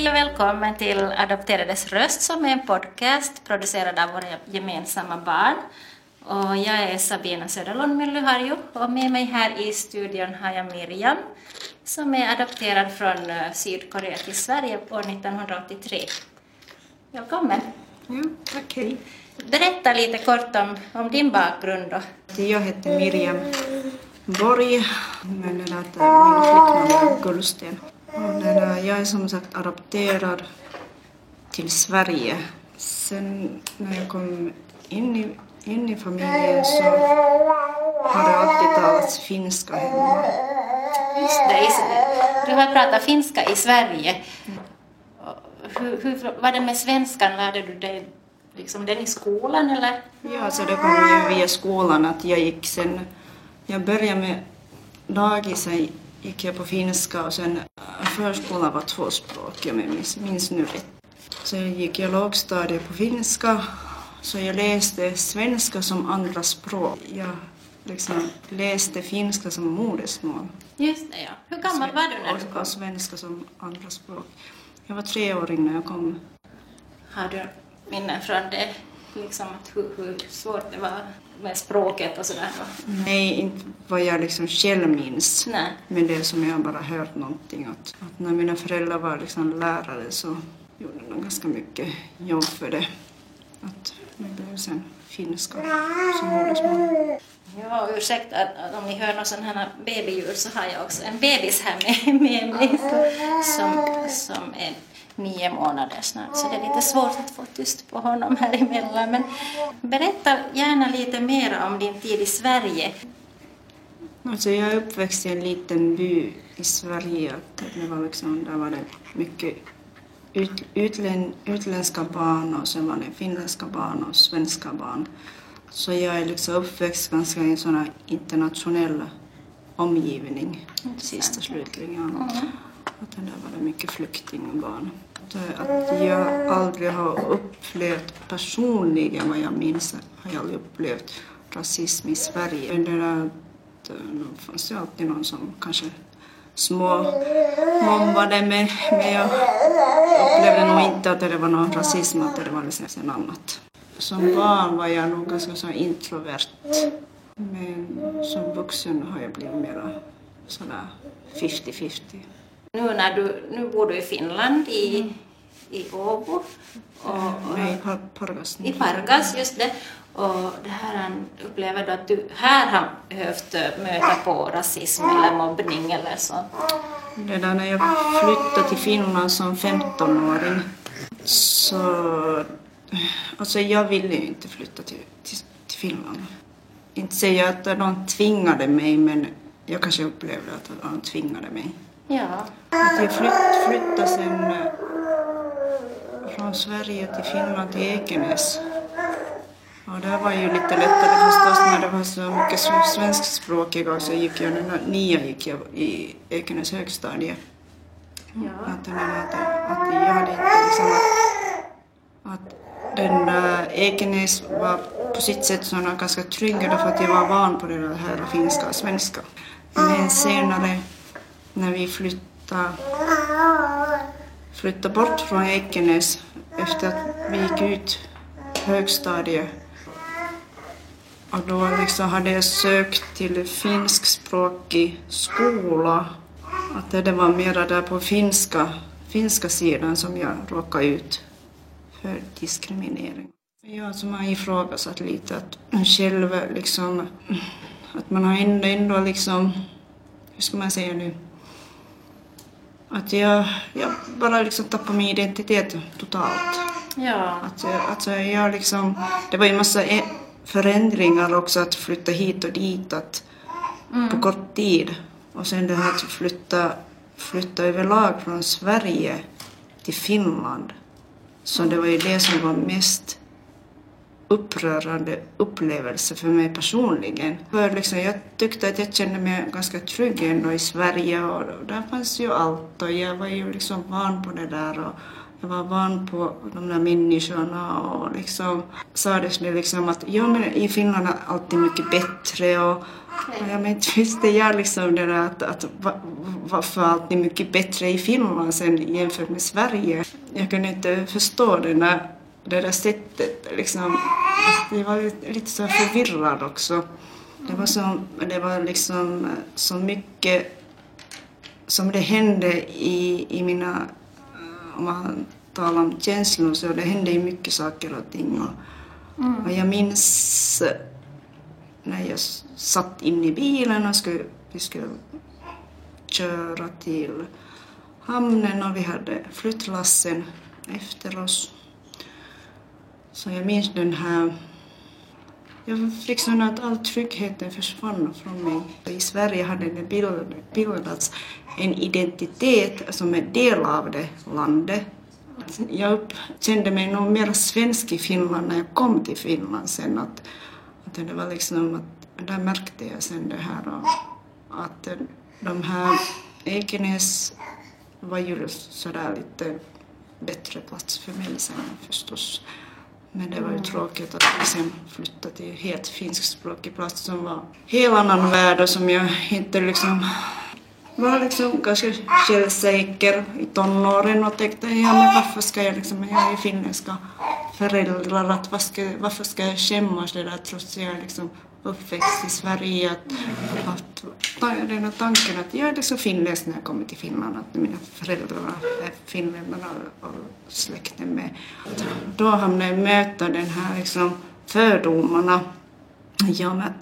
Hej och välkommen till Adopterades röst som är en podcast producerad av våra gemensamma barn. Och jag är Sabina Söderlund Myllyharju och med mig här i studion har jag Miriam som är adopterad från Sydkorea till Sverige år 1983. Välkommen. Ja, tack, hej. Berätta lite kort om din bakgrund då. Jag heter Miriam Borg, men min flicknamn är Gullsten. Jag är som sagt adopterad till Sverige. Sen när jag kom in i familjen så har det alltid talats finska hemma. Just det, du har pratat finska i Sverige. Hur var det med svenskan? Lärde du dig liksom den i skolan eller? Ja, så det kom ju via skolan att jag började med dagis, gick jag på finska och sen förskolan var tvåspråkig om jag minns nu rätt. Så gick jag lågstadiet på finska, så jag läste svenska som andra språk. Jag läste finska som modersmål. Just det, ja. Hur gammal var du när du kom? Och svenska som andra språk. Jag var 3 år när jag kom. Har du minnen från det? Liksom hur svårt det var med språket och sådär? Nej, inte vad jag själv minns. Nej. Men det som jag bara hört någonting. Att när mina föräldrar var lärare så gjorde de ganska mycket jobb för det. Att det blev sen finska som modersmål. Ja, ursäkta om ni hör någon sån här babyljud så har jag också en bebis här med mig som är 9 månader snart. Så det är lite svårt att få tyst på honom här emellan. Men berätta gärna lite mer om din tid i Sverige. Alltså jag är uppväxt i en liten by i Sverige. Det var där var det mycket utländska barn och sen var det finländska barn och svenska barn. Så jag är uppväxt ganska i en sån här internationell omgivning, sista slutligen. Att där var det mycket flyktingbarn. Att jag aldrig har upplevt personligen vad jag minns, har jag aldrig upplevt rasism i Sverige. Det fanns ju alltid någon som kanske mobbade mig, men jag upplevde nog inte att det var någon rasism, att det var något annat. Som barn var jag nog ganska så introvert, men som vuxen har jag blivit mer sådär 50-50. Nu bor du i Finland, i Åbo. Nej, i Pargas. I Pargas, just det. Och det här upplever du att du här har behövt möta på rasism eller mobbning eller så? Det där när jag flyttade till Finland som 15-åring så... Alltså jag ville ju inte flytta till Finland. Inte säga att de tvingade mig, men jag kanske upplevde att de tvingade mig. Ja. Att jag flyttade sen från Sverige till Finland till Ekenäs. Och det var ju lite lättare förstås när det var så mycket svenskspråkiga. Så gick jag i Ekenäs högstadie. Ja. Att jag hade inte att den Ekenäs var på sitt sätt sådana ganska trygga för att jag var van på det här finska och svenska. Men senare när vi flyttade bort från Ekenäs efter att vi gick ut högstadiet och då hade jag sökt till finskspråkig skola. Att det var mera där på finska sidan som jag råkade ut för diskriminering. Jag som har ifrågasatt lite att man själv att man har ändå hur ska man säga nu, att jag bara tappade min identitet totalt. Ja. Det var ju massa förändringar också att flytta hit och dit på kort tid. Och sen det här att flytta överlag från Sverige till Finland. Så det var ju det som var mest upprörande upplevelse för mig personligen. För jag tyckte att jag kände mig ganska trygg ändå i Sverige och där fanns ju allt och jag var ju van på det där och jag var van på de där människorna och liksom sades det liksom att ja, men i Finland är alltid mycket bättre och ja, men inte visste jag liksom det där att varför alltid mycket bättre i Finland sen jämfört med Sverige. Jag kunde inte förstå det där sättet liksom. Jag var lite så förvirrad också. Det var liksom så mycket som det hände i mina, om man talar om känslor, så det hände ju mycket saker och ting. Och jag minns när jag satt in i bilen och vi skulle köra till hamnen och vi hade flyttlassen efter oss. Så jag minns den här, jag fick sån att all tryggheten försvann från mig. I Sverige hade det bildats en identitet som är del av det landet. Jag kände mig nog mer svensk i Finland när jag kom till Finland sen. Att det var liksom att där märkte jag sen det här att de här Ekenäs var ju sådär lite bättre plats för mig sen förstås. Men det var ju tråkigt att vi sen flyttade till helt finskspråkig plats som var helt annan värld och som jag inte liksom var liksom ganska självsäker i tonåren och tänkte ja men varför ska jag liksom, jag är finländska föräldrar, att varför ska jag skämmas det där trots att jag är liksom uppväxt i Sverige, att den här tanken att jag är liksom finländsk när jag kommer till Finland, att mina föräldrar är finländarna och släkten med. Då hamnade jag möta den här liksom fördomarna, ja, med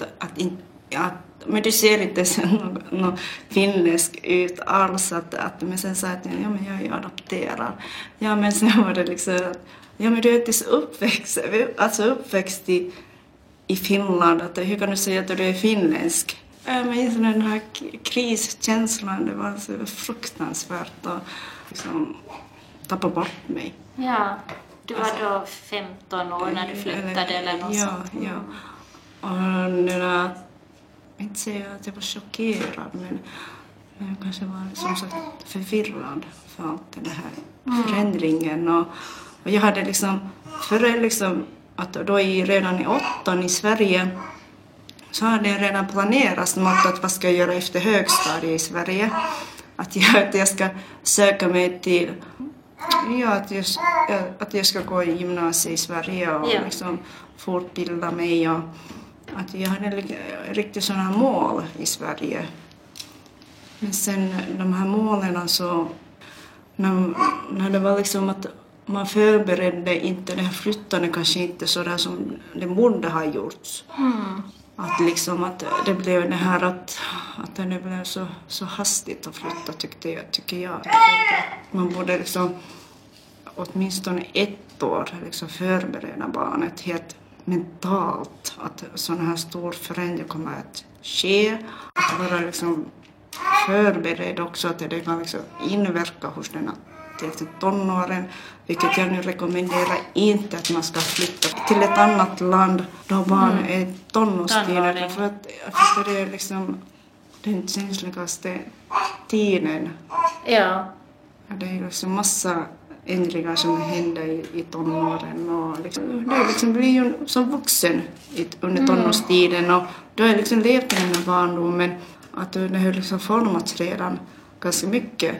men du ser inte sen någon finländsk ut alls, men sen sa jag att ja, men jag är adopterad. Ja, men sen var det liksom att ja, men du är inte uppväxt i Finland, att hur kan du säga att du är finländsk? Men den här kriskänslan, det var så fruktansvärt att liksom tappa bort mig. Ja, du var då 15 år när du flyttade eller något sånt. Ja. Och det där, inte säga att jag var chockerad, men jag kanske var som sagt förvirrad för allt det här förändringen. Och jag hade liksom, före liksom, att då redan i 8 i Sverige så hade jag redan planerat att vad ska jag göra efter högstadiet i Sverige. Att jag ska söka mig till, ja, att jag ska gå i gymnasiet i Sverige och liksom fortbilda mig. Och att jag hade riktigt sådana mål i Sverige. Men sen de här målen så, när det var liksom att man förberedde inte det här flyttandet kanske inte så där som det borde ha gjorts. Att liksom att det blev det här att det blev så hastigt att flytta tycker jag. Man borde liksom åtminstone 1 år liksom förbereda barnet helt mentalt att sådana här stor förändring kommer att ske. Att vara liksom förberedd också att det kan liksom inverka hos den till tonåren, vilket jag nu rekommenderar inte att man ska flytta till ett annat land då barn är tonårstiden, för att det är liksom den känsligaste tiden. Ja. Det är liksom massa ändringar som händer i tonåren och liksom, det är liksom blir ju som vuxen under tonårstiden och då är liksom levt i den här barndomen att det har liksom formats redan ganska mycket.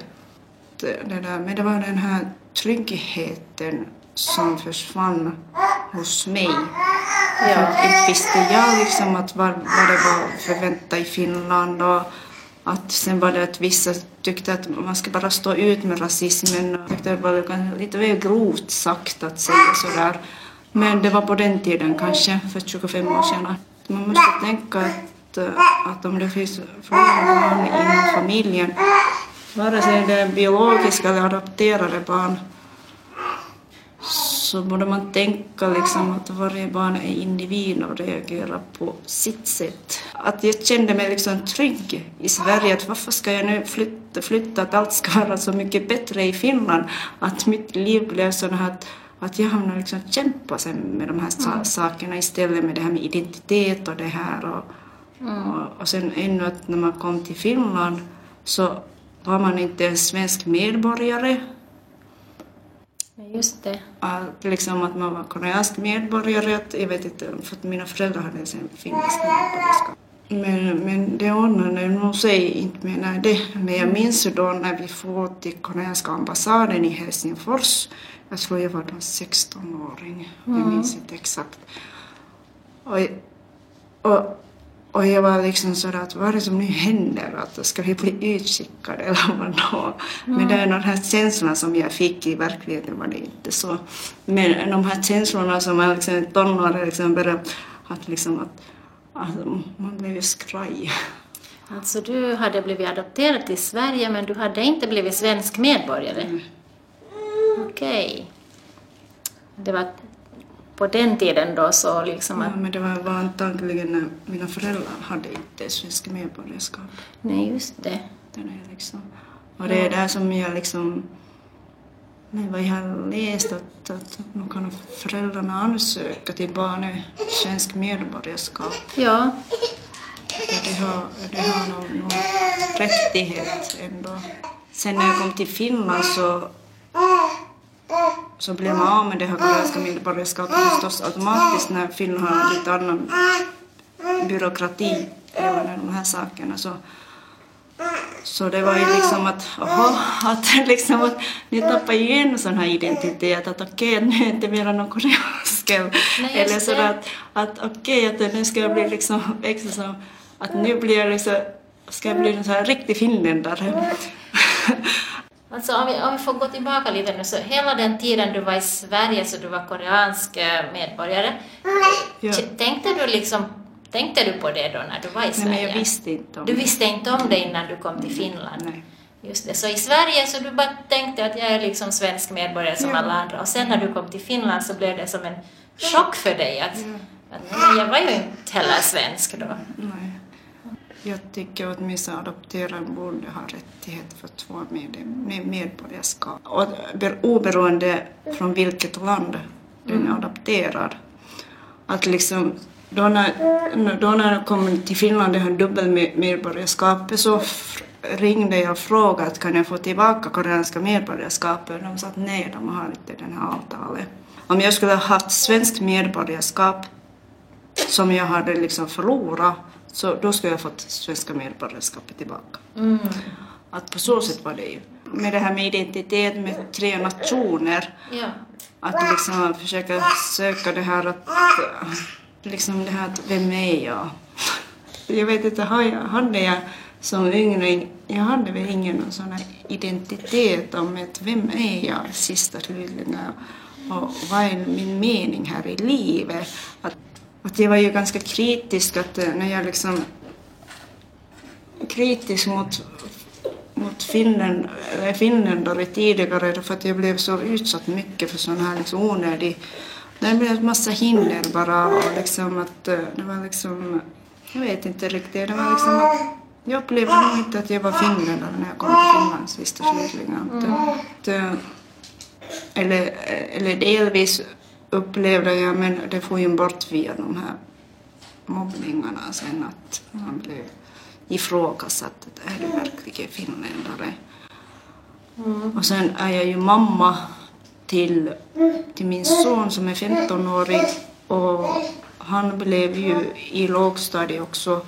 Men det var den här tryggheten som försvann hos mig. Ja. För inte visste jag liksom att vad det var förväntat i Finland och att sen var det att vissa tyckte att man ska bara stå ut med rasismen och tyckte att det var lite väl grovt sagt att säga sådär. Men det var på den tiden kanske, för 25 år sedan. Man måste tänka att om det finns flera barn inom familjen, vare sig det är biologiska eller adopterade barn, så borde man tänka liksom att varje barn är individ och reagerar på sitt sätt. Att jag kände mig liksom trygg i Sverige, att varför ska jag nu flytta att allt ska vara så mycket bättre i Finland, att mitt liv blev så här att jag hamnade liksom kämpa sen med de här sakerna istället med det här med identitet och det här och sen ännu att när man kom till Finland så var man inte en svensk medborgare. Just det. Liksom att man var koreansk medborgare. Jag vet inte, för att mina föräldrar hade sen finniskt medborgarskap. Men det ordnade nog sig inte med det. Men jag minns då när vi får till koreanska ambassaden i Helsingfors. Jag tror jag var då 16-åring. Jag minns inte exakt. Och jag var liksom sådär att vad är det som nu händer? Att ska vi bli utskickade eller vad då? Men det är de här känslorna som jag fick i verkligheten var det inte så. Men de här känslorna som man liksom tonåring liksom började att liksom att man blev ju skraj. Alltså du hade blivit adopterad till Sverige men du hade inte blivit svensk medborgare? Okej. Det var på den tiden då så liksom att... Ja, men det var antagligen när mina föräldrar hade inte svenska medborgarskap. Nej, just det. Det är liksom... Och det är där som jag liksom... Vad jag har läst att nu kan föräldrarna ansöka till barnet svensk medborgarskap. Ja. Det har någon rättighet ändå. Sen när jag kom till Finland så blev man av med det här koreanska medborgarskapet förstås automatiskt när Finland har lite annan byråkrati även de här sakerna. Så det var ju liksom att ni tappar igen en sån här identitet att okej, nu är inte mer någon koreansk eller så att okej, att nu ska jag bli liksom extra som att nu blir jag liksom, ska jag bli en sån här riktig finländare. Alltså om vi får gå tillbaka lite nu så hela den tiden du var i Sverige så du var koreansk medborgare. Ja. Tänkte du på det då när du var i Sverige? Nej, men jag visste inte om det. Du visste inte om det innan du kom till Finland? Nej. Just det. Så i Sverige så du bara tänkte att jag är liksom svensk medborgare som alla andra. Och sen när du kom till Finland så blev det som en chock för dig att jag var ju inte heller svensk då. Nej. Jag tycker att åtminstone adopterade borde ha rättighet för 2 medborgarskap. Och oberoende från vilket land den är adopterad. Att liksom, då när jag kom till Finland och hade dubbelmedborgarskap så ringde jag och frågade att kan jag få tillbaka koreanska medborgarskapet. De sa att nej, de har inte den här avtalet. Om jag skulle ha haft svenskt medborgarskap som jag hade liksom förlorat så då skulle jag fått svenska medborgarskapet tillbaka. Att på så sätt var det ju. Med det här med identitet med 3 nationer. Ja. Att liksom försöka söka det här att liksom det här att vem är jag? Jag vet inte, hade jag som yngre, jag hade väl ingen sån här identitet om att vem är jag sista slutligen och vad är min mening här i livet? Att jag var ju ganska kritisk att när jag liksom kritisk mot finländare tidigare för att jag blev så utsatt mycket för sån här liksom onödig. Det blev en massa hinder bara och liksom att det var liksom jag vet inte riktigt, det var liksom att jag upplevde nog inte att jag var finländare när jag kom till Finland sista slutligen. Eller delvis upplevde jag, men det får ju bort via de här mobbningarna sen att man blev ifrågasatt att är du verkligen finländare. Och sen är jag ju mamma till min son som är 15-årig och han blev ju i lågstadiet också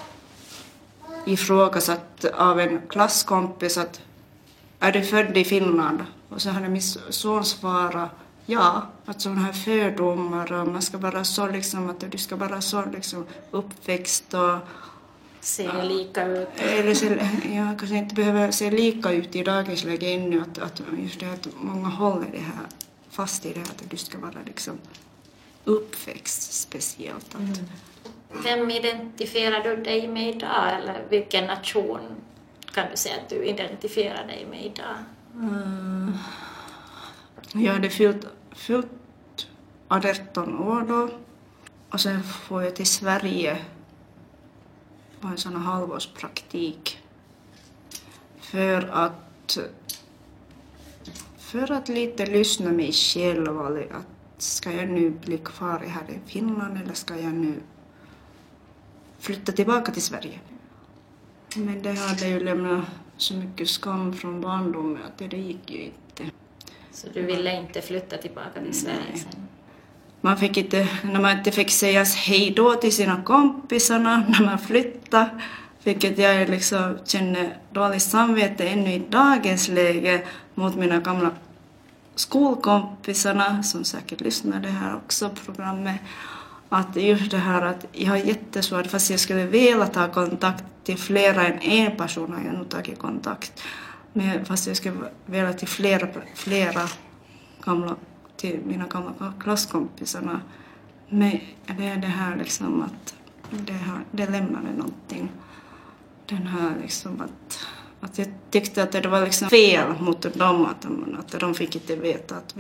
ifrågasatt av en klasskompis att är du född i Finland? Och så hade min son svarat ja, att sådana här fördomar och man ska vara så liksom att du ska vara så liksom uppväxt och se lika ut. Eller kanske inte behöver se lika ut i dagens läge ännu att just det att många håller det här fast i det här att du ska vara liksom uppväxt speciellt. Vem identifierar du dig med idag eller vilken nation kan du säga att du identifierar dig med idag? Jag hade fyllt 18 år då och sen får jag till Sverige på en sån här halvårspraktik för att lite lyssna mig själv att ska jag nu bli kvar här i Finland eller ska jag nu flytta tillbaka till Sverige. Men det hade ju lämnat så mycket skam från barndomen att det gick ju inte. Så du ville inte flytta tillbaka till Sverige sen? När man inte fick säga hej då till sina kompisarna när man flyttade, vilket jag liksom känner dåligt samvete ännu i dagens läge mot mina gamla skolkompisarna som säkert lyssnade här också på programmet. Att just det här att jag har jättesvårt, fast jag skulle vilja ta kontakt till flera än en person har jag nog tagit kontakt. Men fast jag skulle vilja till flera till mina gamla klasskompisarna. Men det är det här liksom att det lämnade någonting. Den här liksom att jag tyckte att det var liksom fel mot dem att de fick inte veta att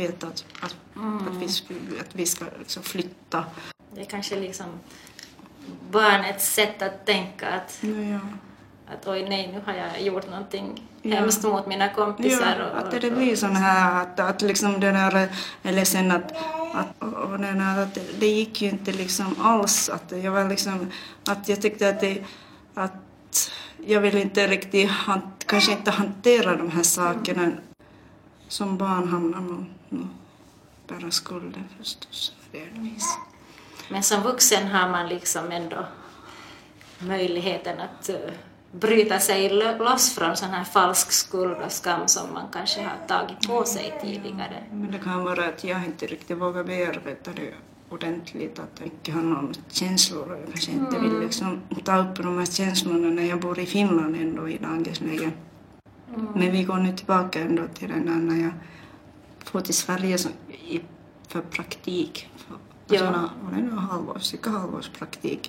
vi ska liksom flytta. Det är kanske liksom barnets sätt att tänka att oj nej, nu har jag gjort någonting hemskt mot mina kompisar. Ja, att det blir sån här att liksom den här eller sen att det gick ju inte liksom alls att jag var liksom att jag tyckte att jag vill inte riktigt kanske inte hantera de här sakerna som barn hamnar nog bara skulden förstås delvis. Men som vuxen har man liksom ändå möjligheten att bryta sig loss från sån här falsk skuld och skam som man kanske har tagit på sig tidigare. Men det kan vara att jag inte riktigt vågar bearbeta det ordentligt, att jag inte har någon känslor och jag kanske inte vill liksom ta upp de här känslorna när jag bor i Finland ändå i dagens läge. Men vi går nu tillbaka ändå till den här när jag får till Sverige för praktik. Cirka halvårspraktik.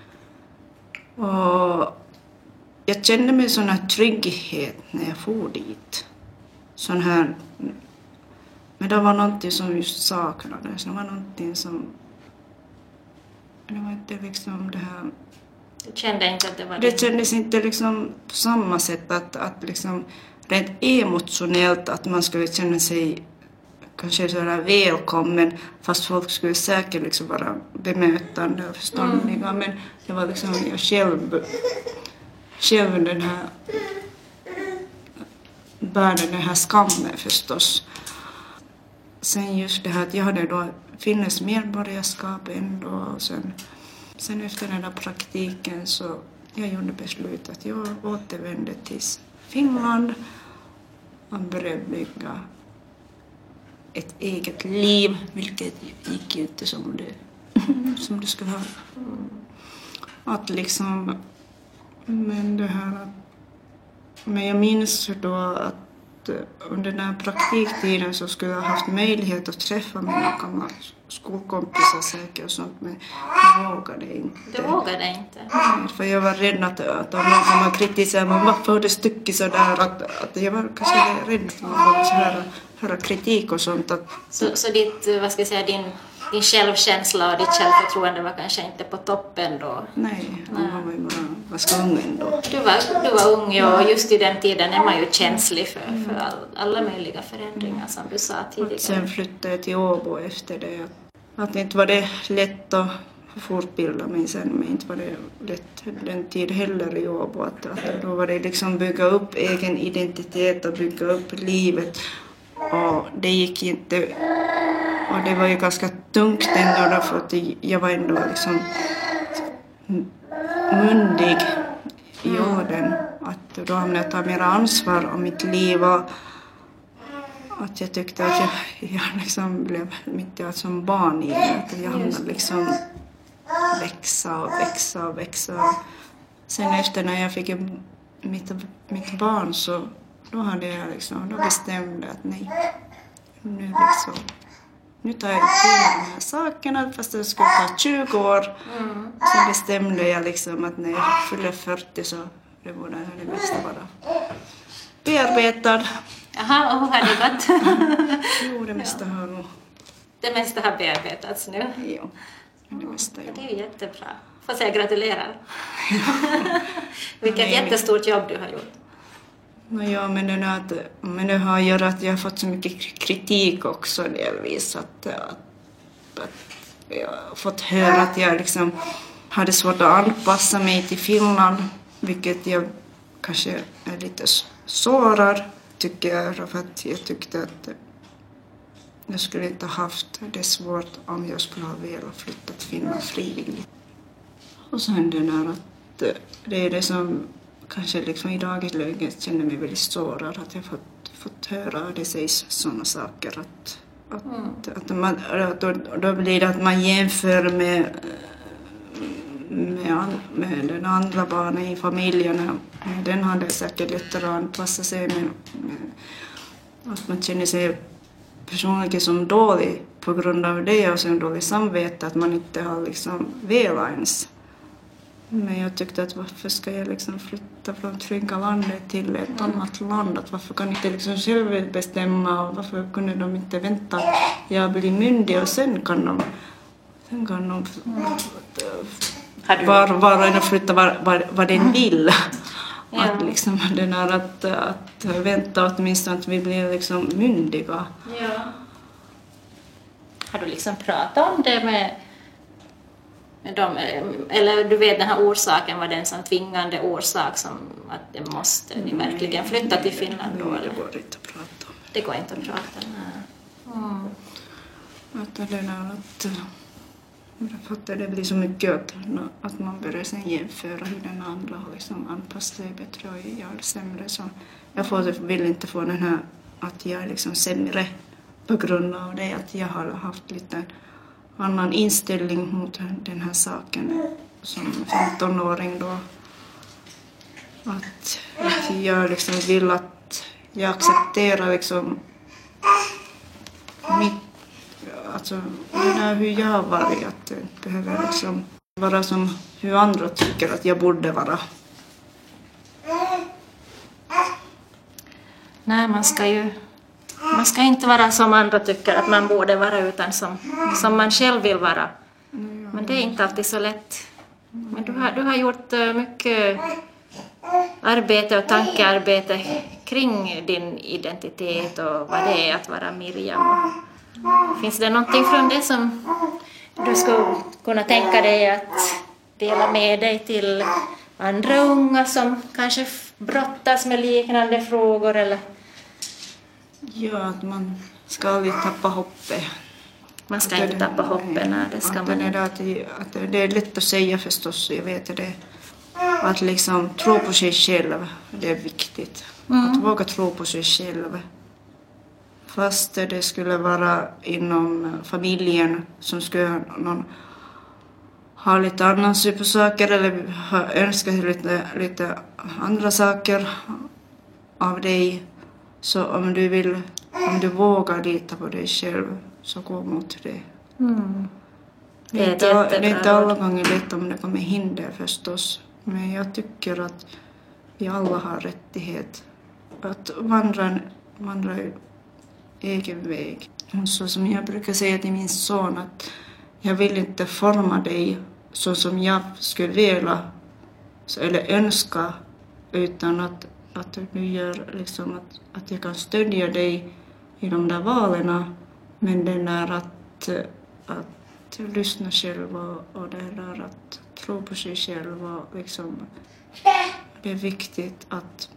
Och jag kände mig sån här trygghet när jag for dit. Sån här, men det var någonting som just saknades. Det var någonting som, det var inte liksom det här. Du kände inte att det var det kändes inte liksom på samma sätt att liksom rent emotionellt att man skulle känna sig kanske sådär välkommen, fast folk skulle säkert liksom vara bemötande och förståndiga. Men det var liksom jag själv den här bärde den här skammen förstås. Sen just det här att jag hade då finnes medborgarskap ändå. Och sen efter den där praktiken så jag gjorde beslutet att jag återvände till Finland och började bygga ett eget liv, vilket gick ju inte som det skulle ha. Att liksom, men jag minns då att under den här praktiktiden så skulle jag ha haft möjlighet att träffa mina gamla skolkompisar säkert och sånt, men jag vågade inte. Du vågade inte? Nej, för jag var rädd att om någon kommer kritisera mig, varför har du stuckit sådär? Att jag var kanske rädd för att höra kritik och sånt. Så ditt, vad ska jag säga, din självkänsla och ditt självförtroende var kanske inte på toppen då? Nej. Man var ju bara ganska ung ändå. Du var ung och just i den tiden är man ju känslig för alla möjliga förändringar som du sa tidigare. Sen flyttade jag till Åbo efter det. Att inte var det lätt att fortbilda mig sen, men inte var det lätt den tid heller i Åbo. Att då var det liksom bygga upp egen identitet och bygga upp livet. Och det gick inte, och det var ju ganska tungt ändå då, för att jag var ändå liksom myndig i åldern. Att då hamnade jag ta mer ansvar om mitt liv och att jag tyckte att jag liksom blev mitt som barn igen. Att jag hamnade liksom växa. Sen efter när jag fick mitt barn så då bestämde jag att nej, nu tar jag till de här sakerna fast det skulle ta 20 år. Så bestämde jag liksom att när jag fyller 40 så det borde det mesta vara bearbetad. Jaha, och hur har det gått? Jo, det mesta har nog. Det mesta har bearbetats nu? Jo, det mesta. Det är ju jättebra. Får säga gratulerar. Vilket jättestort jobb du har gjort. Ja, men det har gjort att jag har fått så mycket kritik också delvis. Att jag har fått höra att jag liksom hade svårt att anpassa mig till Finland. Vilket jag kanske är lite sårad tycker jag. För att jag tyckte att jag skulle inte ha haft det svårt om jag skulle ha velat flytta till Finland frivilligt. Och sen det där att det är det som kanske liksom i dagens läge känner mig väldigt sårad, att jag fått höra det sägs sådana saker då blir det att man jämför med den andra barnen i familjen. Den hade säkert lättare att anpassa sig, men att man känner sig personligen som dålig på grund av det och sen dålig samvete att man inte har liksom velat ens. Men jag tyckte att varför ska jag liksom flytta från trygga landet till ett annat land? Att varför kan inte liksom själv bestämma och varför kunde de inte vänta att jag blir myndig och sen kan de var och en flytta var den vill. Ja. Att liksom det där att vänta åtminstone att vi blir liksom myndiga. Ja. Har du liksom pratat om det med dem, eller du vet den här orsaken, var den som tvingande orsak som att det måste ni verkligen flytta till Finland då? Nej, det går inte att prata om. Det går inte att prata om. Att det där att det blir så mycket att man börjar sen jämföra hur den andra har liksom anpassat sig bättre och jag är sämre. Så jag vill inte få den här att jag är liksom sämre på grund av det, att jag har haft lite annan inställning mot den här saken som 15-åring då. Att jag liksom vill att jag accepterar liksom mitt, alltså det där hur jag har varit, att det behöver liksom vara som hur andra tycker att jag borde vara. Nej, man ska inte vara som andra tycker att man borde vara, utan som man själv vill vara. Men det är inte alltid så lätt. Men du har gjort mycket arbete och tankearbete kring din identitet och vad det är att vara Miriam. Finns det någonting från det som du skulle kunna tänka dig att dela med dig till andra unga som kanske brottas med liknande frågor? Eller? Ja, att man ska aldrig tappa hoppet. Man ska inte tappa hoppet, nej, det ska man inte. Att det är lätt att säga förstås, jag vet det. Att liksom tro på sig själv, det är viktigt. Att våga tro på sig själv. Fast det skulle vara inom familjen som skulle ha lite annan syn på saker eller önska lite andra saker av dig. Så om du vågar lita på dig själv, så gå mot det. Det är inte alla gånger lätt om det kommer hinder förstås. Men jag tycker att vi alla har rättighet att vandra egen väg. Så som jag brukar säga till min son, att jag vill inte forma dig så som jag skulle vilja eller önska, utan att du gör liksom att jag kan stödja dig i de där valen, men det är att lyssna själv och det är att tro på sig själv och liksom det är viktigt att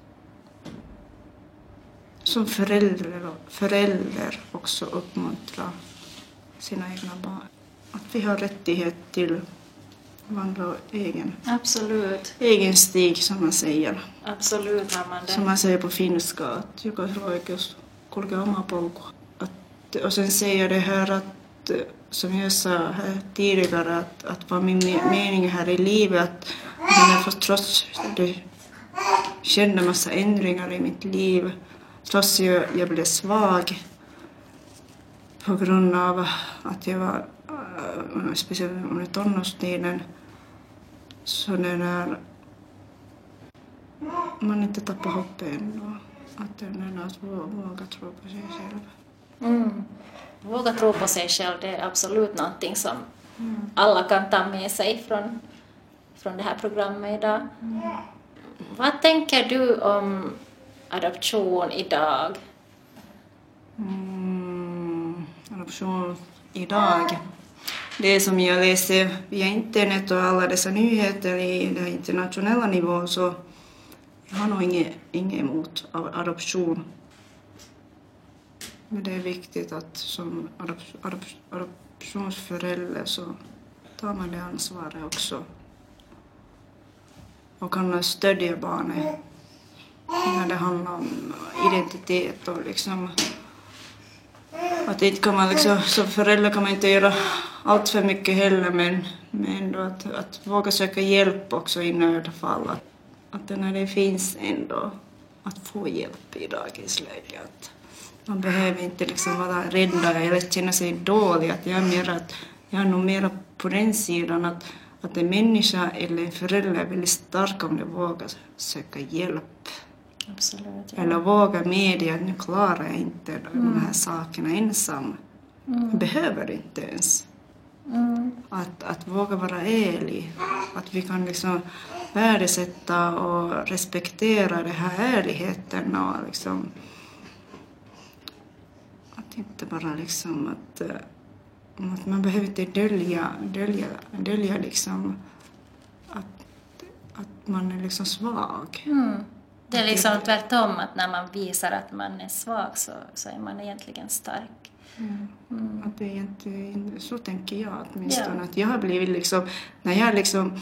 som förälder också uppmuntra sina egna barn. Att vi har rättighet till vandra egen stig, som man säger. Absolut har man det. Som man säger på finska, att jokaisen oikeus kulkea oma polku. Och sen säger det här att, som jag sa här tidigare, att vad min mening här i livet, att jag fått trots det kände massa ändringar i mitt liv, trots jag blev svag på grund av att jag var, speciellt under tonårstiden, så när man inte tappar hoppet ändå, att våga tro på sig själv. Våga tro på sig själv, det är absolut någonting som alla kan ta med sig från det här programmet idag. Vad tänker du om adoption idag? Adoption idag. Det som jag läser via internet och alla dessa nyheter i den internationella nivån, så jag har nog inget emot adoption. Men det är viktigt att som adoptionsförälder så tar man det ansvaret också. Och kan stödja barnet när det handlar om identitet och liksom att inte kan man liksom, som förälder kan man inte göra allt för mycket heller men ändå att våga söka hjälp också i nödfall. Att när det finns ändå att få hjälp i dagens läge. Att man behöver inte liksom vara rädda eller känna sig dålig. Att jag är nog mer på den sidan att en människa eller en förälder är väldigt stark om de vågar söka hjälp. Absolut, ja. Eller våga medge att nu klarar jag inte de här sakerna ensam. Jag behöver inte ens. Att våga vara ärlig. Att vi kan liksom värdesätta och respektera den här ärligheten. Och liksom, att inte bara liksom att man behöver inte dölja liksom att man är liksom svag. Det är liksom tvärtom att när man visar att man är svag så är man egentligen stark. Att det är egentligen, så tänker jag åtminstone. Att jag har blivit liksom, när jag liksom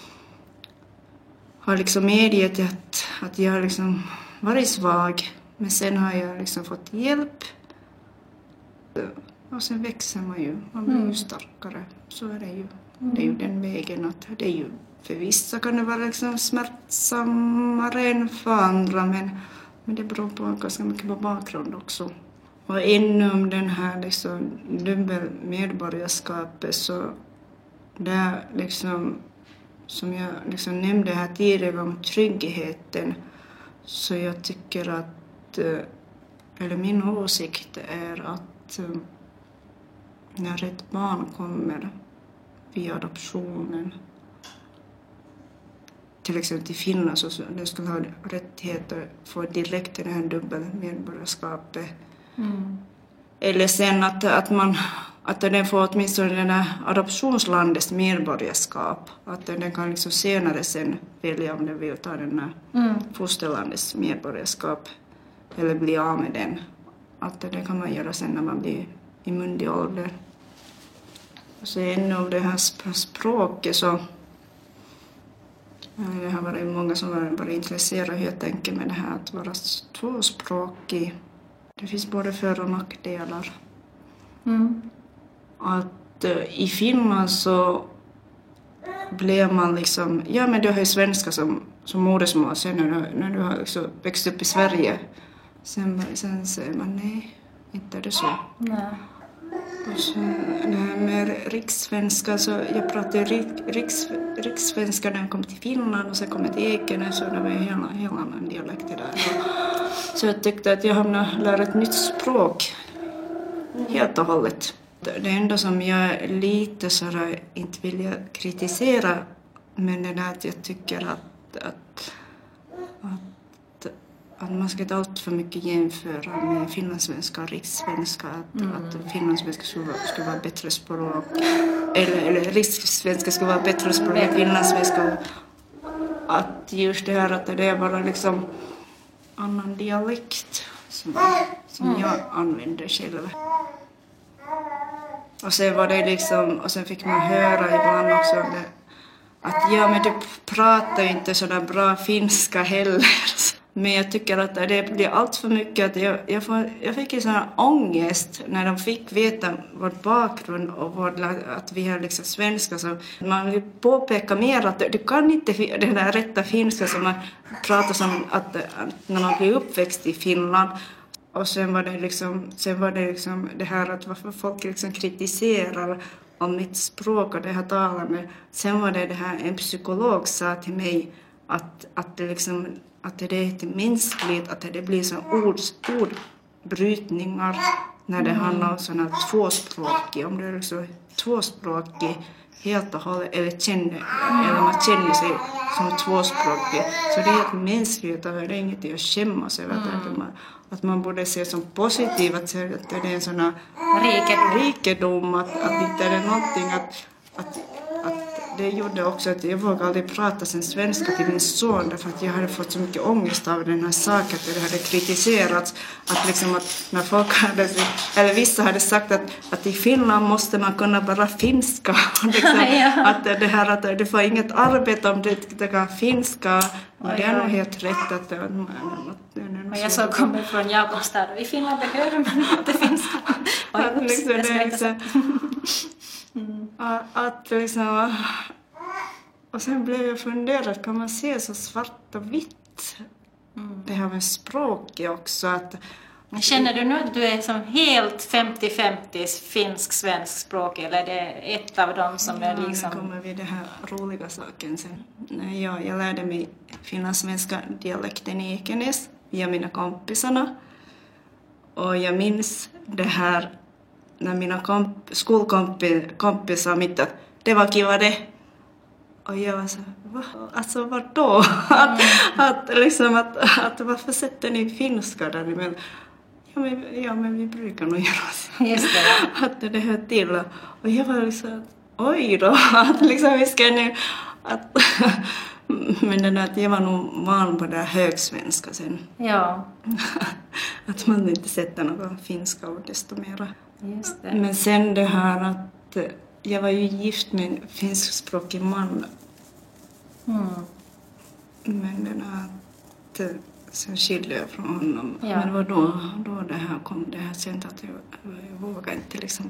har liksom medgett att jag har liksom varit svag, men sen har jag liksom fått hjälp. Och sen växer man blir ju starkare. Så är det ju. Det är ju den vägen att det är ju, för vissa kan det vara liksom smärtsammare än för andra, men det beror på ganska mycket på bakgrund också. Och inom den här liksom dubbelmedborgarskapet så det liksom, som jag liksom nämnde här tidigare om tryggheten, så jag tycker att, eller min åsikt är att när ett barn kommer via adoptionen, till exempel till Finland, så det skulle ha rättighet att få direkt det här dubbelmedborgarskapet. Eller sen att den får åtminstone den här adoptionslandets medborgarskap. Att den kan liksom senare sen välja om den vill ta den här fosterlandets medborgarskap eller bli av med den. Att det kan man göra sen när man blir i myndig ålder. Och sen av det här språket så det har varit många som har varit intresserade helt enkelt med det här att vara tvåspråkig. Det finns både för- och nackdelar. Att i Finland så blev man liksom, ja men du har ju svenska som modersmål sen när du har liksom växt upp i Sverige. Sen säger man nej, inte är det så. Nej. Och så det här med rikssvenska, så jag pratade rikssvenska när jag kom till Finland och sen kom jag till Ekenäs och det var en helt annan dialekt där. Så jag tyckte att jag hamnade lära ett nytt språk helt och hållet. Det enda som jag lite sådär inte vill kritisera, men det är att jag tycker att man ska inte allt för mycket jämföra med finlandssvenska och rikssvenska. Att finlandssvenska skulle vara bättre språk. Eller rikssvenska skulle vara bättre språk än finlandssvenska. Att just det här att det är bara liksom annan dialekt som jag använder själv. Och sen var det liksom, och sen fick man höra ibland också att ja men du pratar ju inte sådär bra finska heller. Men jag tycker att det blir allt för mycket att jag fick en sån här ångest när de fick veta vår bakgrund och att vi är liksom svenska. Så man vill påpeka mer att du kan inte den där rätta finska som man pratar som att när man blir uppväxt i Finland. Och sen var det liksom det här att varför folk liksom kritiserar om mitt språk och det här talar med. Sen var det här en psykolog sa till mig att det liksom att det är inte mänskligt, att det blir så ordbrytningar när det handlar om sådana tvåspråkig. Om det är liksom tvåspråkig helt och hållet eller man känner sig som tvåspråkig. Så det är helt mänskligt och det är inget att skämmas över. Att man borde se som positivt att det är en sån här rikedom att inte är det någonting att det gjorde också att jag vågade aldrig prata sen svenska till min son därför att jag hade fått så mycket ångest av den här saken att det hade kritiserats att liksom att när folk hade, eller vissa hade sagt att i Finland måste man kunna bara finska och liksom, att det här att det får inget arbete om det kan finska och det är nog helt rätt att och jag så kommer från Jakobstad och i Finland behöver man inte finska att liksom, det är liksom, att liksom, och sen blev jag funderad, kan man se så svart och vitt det här med språket också att känner du nu att du är som helt 50-50 finsk-svensk språk eller är det ett av dem som är liksom... Nu kommer vi det här roliga saken sen. Jag lärde mig finlandssvenska dialekten i Ekenäs via mina kompisarna och jag minns det här när mina skolkompisar mitt att det var kiva det. Och jag var så va? Alltså vadå? Att varför sätter ni finska där? Men, men vi brukar nog göra så. Just det. Att det hör till. Och jag var liksom, oj då. Att liksom vi ska nu... Att, men den att jag var nog van på det här högsvenska sen. Ja. Att man inte sätter någon finska ord desto mera. Just det. Men sen det här att jag var ju gift med en finskspråkig man. Men den att sen skilde jag från honom. Ja. Men det var då det här kom det här sen att jag vågade inte liksom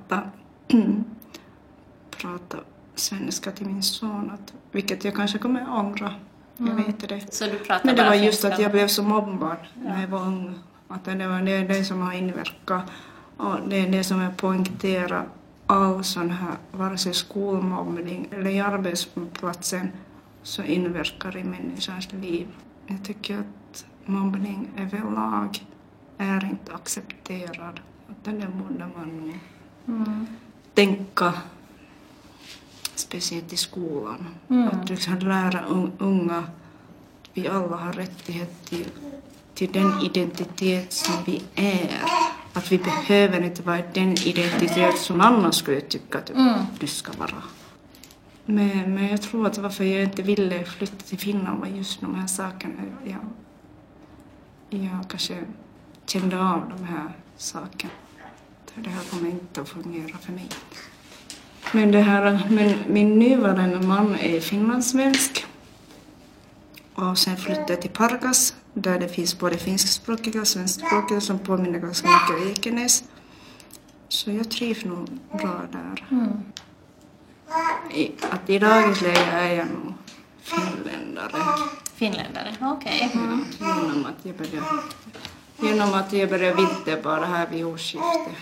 prata svenska till min son. Vilket jag kanske kommer ångra. Jag vet det. Så du pratar men det bara var just finska. att jag blev så mobbad när jag var ung. Att det var det som har inverkat. Och det är det som jag poängterar all sån här, vare sig skolmobbning eller i arbetsplatsen så inverkar i människans liv. Jag tycker att mobbning överlag är inte accepterad. Att det borde man tänka speciellt i skolan. Att du kan lära unga att vi alla har rättighet till den identitet som vi är. Att vi behöver inte vara den identitet som annan skulle tycka att du ska vara. Men jag tror att varför jag inte ville flytta till Finland var just de här sakerna. Jag kanske kände av de här sakerna. Det här kommer inte att fungera för mig. Men min nuvarande man är finlandssvensk. Och sen flyttade jag till Pargas. Där det finns både finskspråkiga och svenskspråkiga som påminner ganska mycket om Ekenäs. Så jag trivs nog bra där. Att i dagens läge är jag nog finländare. Finländare, okej. Genom att jag började vinterbada här vid årsskiftet.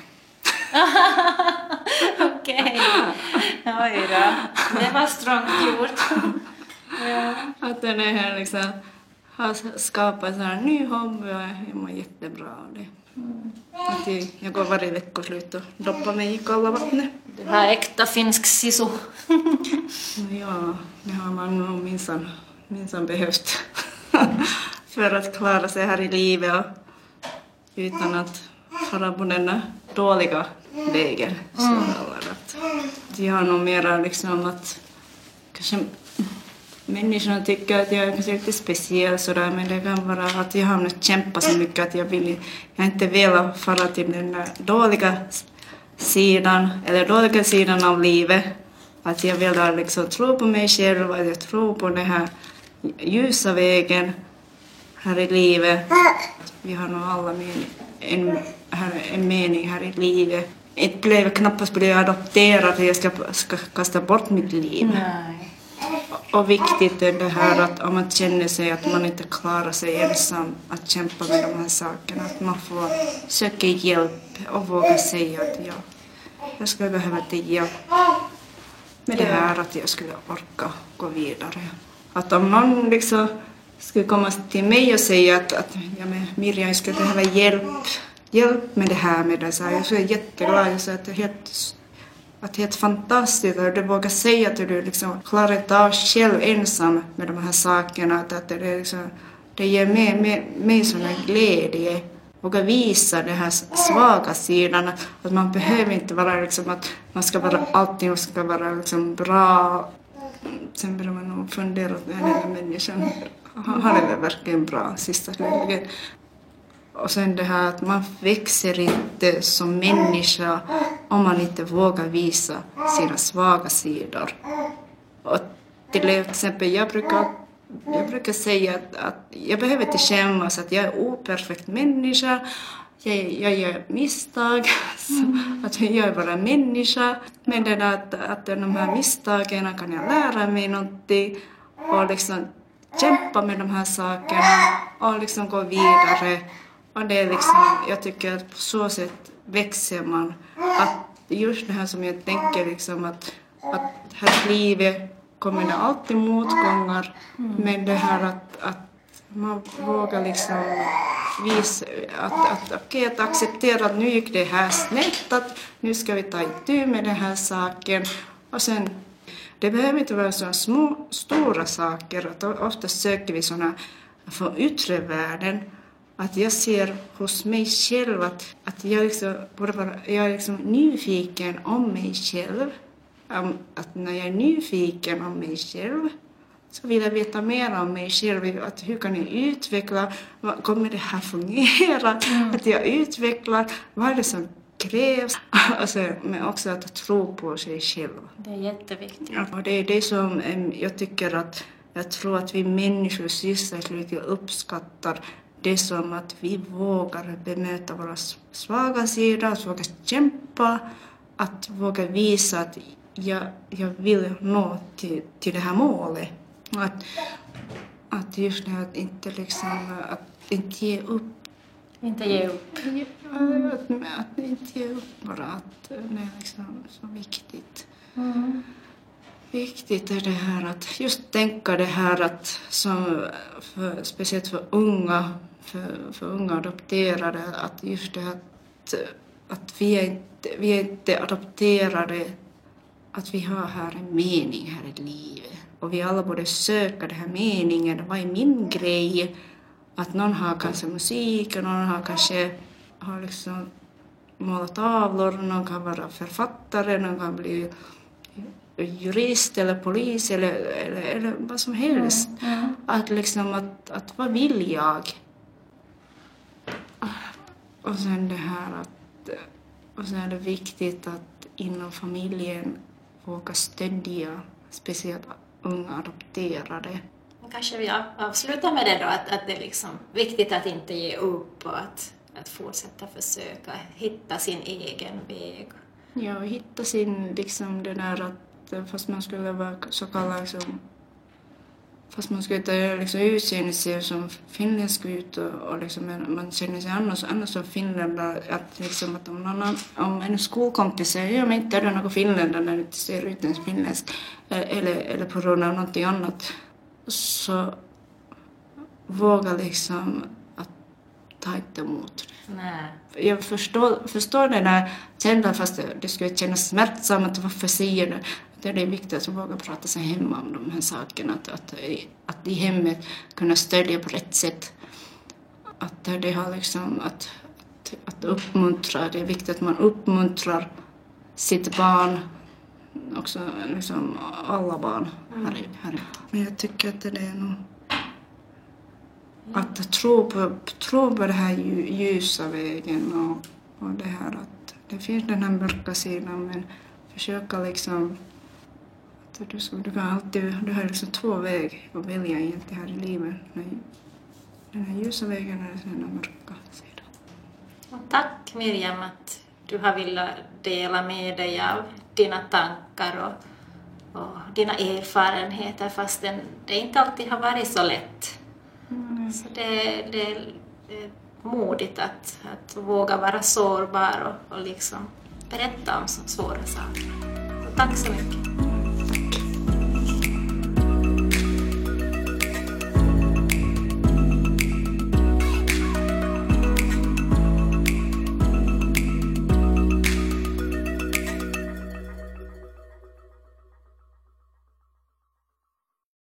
Okej. Oj då. Det var strångt gjort. Ja. Att den är här liksom har skapat en sån här ny hobby och jag mår jättebra av det. Att jag går varje veckoslut och doppar mig i kalla vattnet. Du har äkta finsk sisu. Ja, det har man nog minsann behövt för att klara sig här i livet och utan att fara på den dåliga vägen. Jag har nog mera liksom att kanske människorna tycker att jag är kanske lite speciell sådär, men det kan vara att jag har kämpat så mycket att jag inte velat fara till den dåliga sidan av livet. Att jag vill liksom tro på mig själv, att jag tror på den här ljusa vägen här i livet. Vi har nog alla en mening här i livet. Knappast blev jag adopterad för jag ska kasta bort mitt liv. Nej. Och viktigt är det här att om man känner sig att man inte klarar sig ensam att kämpa med de här sakerna. Att man får söka hjälp och våga säga att jag skulle behöva till hjälp med det här att jag skulle orka gå vidare. Att om någon liksom skulle komma till mig och säga att Miriam, jag skulle behöva hjälp med det här med det. Så jag är jätteglad. Jag säger att det är helt fantastiskt att du vågar säga att du liksom klarar inte av själv ensam med de här sakerna. Att det, liksom, det ger mig sån här glädje. Våga visa den här svaga sidan. Att man behöver inte vara liksom att man ska vara allting ska vara liksom bra sen börjar man nog fundera att den här människan har det verkligen bra sista slutligen. Och sen det här att man växer inte som människa om man inte vågar visa sina svaga sidor. Och till exempel jag brukar säga att jag behöver inte skämmas att jag är operfekt människa. Jag gör misstag, att jag är bara människa. Men det att de här misstagen kan jag lära mig någonting och liksom kämpa med de här sakerna och liksom gå vidare. Och det är liksom, jag tycker att på så sätt växer man. Att just det här som jag tänker liksom att här i livet kommer det alltid motgångar. Men det här att man vågar liksom visa att acceptera att nu gick det här snett, att nu ska vi ta itu med den här saken. Och sen, det behöver inte vara så stora saker. Att ofta söker vi sådana från yttre världen. Att jag ser hos mig själv att jag är liksom nyfiken om mig själv. Att när jag är nyfiken om mig själv så vill jag veta mer om mig själv. Att hur kan jag utveckla? Kommer det här fungera? Att jag utvecklar. Vad är det som krävs? Alltså, men också att tro på sig själv. Det är jätteviktigt. Och det är det som jag tycker att jag tror att vi människor sysselsättligt uppskattar. Det är som att vi vågar bemöta våra svaga sidor, att våga kämpa, att våga visa att jag vill nå till det här målet. Att just det här att inte liksom, att inte ge upp. Inte ge upp. Att inte ge upp bara, att det är liksom så viktigt. Viktigt är det här att just tänka det här att som speciellt för unga adopterade, att just det här att vi är inte adopterade, att vi har här en mening här i livet. Och vi alla borde söka den här meningen. Vad är min grej? Att någon har kanske musik, och någon har kanske liksom målat tavlor, någon kan vara författare, någon kan bli jurist eller polis eller vad som helst. Att liksom att vad vill jag? Och sen det här och sen är det viktigt att inom familjen våga stödja speciellt unga adopterade. Kanske vi avslutar med det då, att det är liksom viktigt att inte ge upp och att fortsätta försöka hitta sin egen väg. Ja, hitta sin liksom det där att fast man skulle vara så kallad liksom, fast man skulle inte liksom utseende sig som finländsk ut och liksom man känner sig annars som finländare, att liksom att om en skolkompis säger ja men inte är det någon finländare när det inte ser ut ens finländsk eller på grund av någonting annat, så våga liksom att ta inte emot det. Nej. Jag förstår den där känslan, fast det skulle kännas smärtsamt att varför säger det. Det är viktigt att våga prata sig hemma om de här sakerna. Att i hemmet kunna stödja på rätt sätt. Att det har liksom att uppmuntra. Det är viktigt att man uppmuntrar sitt barn. Också liksom alla barn här. Men jag tycker att det är nog att tro på det här ljusa vägen och det här att det finns den här mörka sidan, men försöka liksom att du har liksom två vägar att välja egentligen här i livet. Den här ljusa vägen och den här mörka sidan. Och tack Miriam att du har velat dela med dig av dina tankar och dina erfarenheter, fast det inte alltid har varit så lätt. Så det är modigt att våga vara sårbar och liksom berätta om så svåra saker. Så tack så mycket.